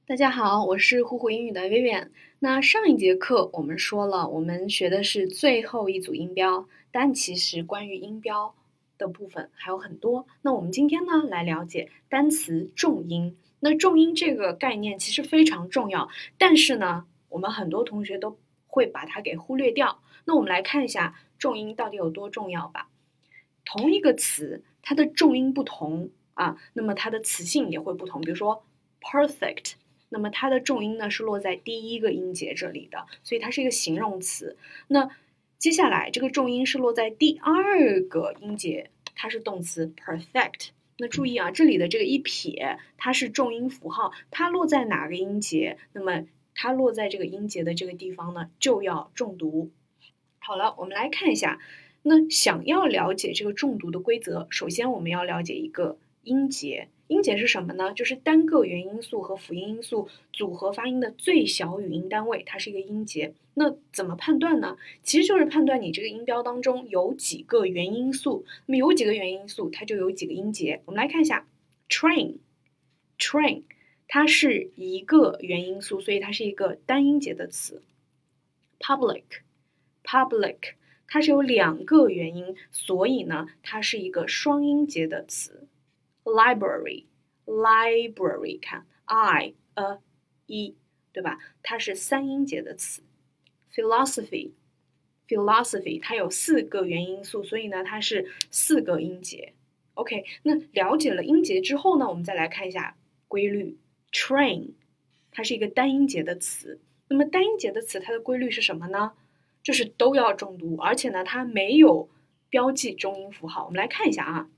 大家好，我是虎虎英语的 Vivian。那上一节课我们说了，我们学的是最后一组音标，但其实关于音标的部分还有很多。那我们今天呢，来了解单词重音。那重音这个概念其实非常重要，但是呢，我们很多同学都会把它给忽略掉。那我们来看一下重音到底有多重要吧。同一个词，它的重音不同啊，那么它的词性也会不同。比如说 perfect。那么它的重音呢是落在第一个音节这里的，所以它是一个形容词。那接下来这个重音是落在第二个音节，它是动词 perfect。那注意啊，这里的这个一撇，它是重音符号，它落在哪个音节？那么它落在这个音节的这个地方呢，就要重读。好了，我们来看一下。那想要了解这个重读的规则，首先我们要了解一个音节。音节是什么呢？就是单个元音素和辅音因素组合发音的最小语音单位，它是一个音节。那怎么判断呢？其实就是判断你这个音标当中有几个元音素。那么有几个元音素，它就有几个音节。我们来看一下 train， 它是一个元音素，所以它是一个单音节的词。public， 它是有两个元音，所以呢，它是一个双音节的词。library， 看 i a e， 对吧？它是三音节的词。philosophy， 它有四个元音素，所以呢，它是四个音节。OK， 那了解了音节之后呢，我们再来看一下规律。train， 它是一个单音节的词。那么单音节的词，它的规律是什么呢？就是都要重读，而且呢，它没有标记重音符号。我们来看一下啊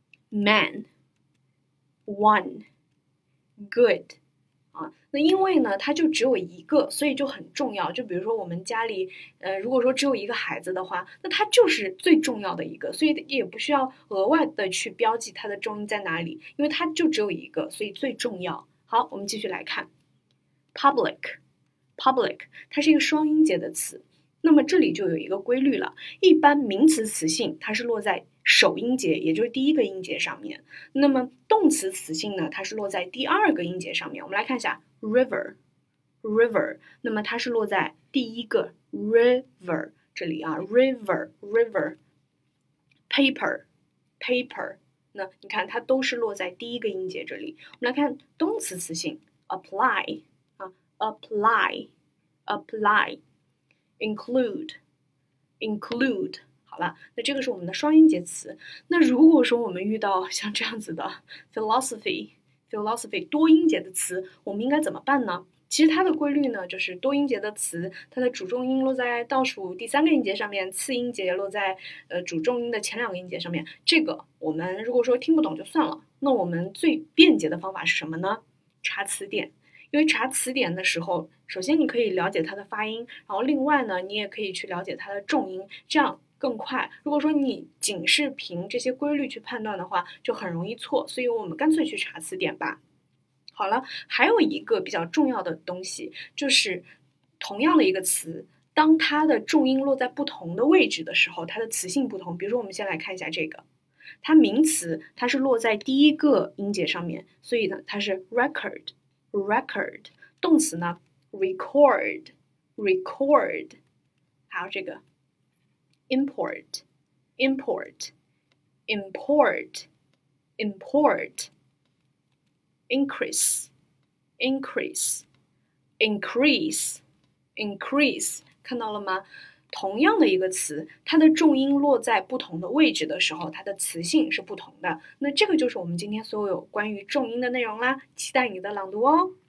，man。one good 啊，那因为呢，它就只有一个，所以就很重要。就比如说我们家里，如果说只有一个孩子的话，那它就是最重要的一个，所以也不需要额外的去标记它的重音在哪里，因为它就只有一个，所以最重要。好，我们继续来看 public， 它是一个双音节的词。那么这里就有一个规律了，一般名词词性它是落在首音节，也就是第一个音节上面。那么动词词性呢，它是落在第二个音节上面。我们来看一下 river， 那么它是落在第一个 river 这里啊 river。 paper， 那你看它都是落在第一个音节这里。我们来看动词词性 apply 啊 apply include， 好了，那这个是我们的双音节词。那如果说我们遇到像这样子的 philosophy 多音节的词，我们应该怎么办呢？其实它的规律呢，就是多音节的词，它的主重音落在倒数第三个音节上面，次音节落在主重音的前两个音节上面。这个我们如果说听不懂就算了，那我们最便捷的方法是什么呢？查词典。因为查词典的时候，首先你可以了解它的发音，然后另外呢，你也可以去了解它的重音，这样更快。如果说你仅是凭这些规律去判断的话，就很容易错，所以我们干脆去查词典吧。好了，还有一个比较重要的东西，就是同样的一个词，当它的重音落在不同的位置的时候，它的词性不同。比如说，我们先来看一下这个，它名词它是落在第一个音节上面，所以呢，它是 record。动词呢 record， 还有这个 import increase increase， 看到了吗？同样的一个词，它的重音落在不同的位置的时候，它的词性是不同的。那这个就是我们今天所有关于重音的内容啦，期待你的朗读哦。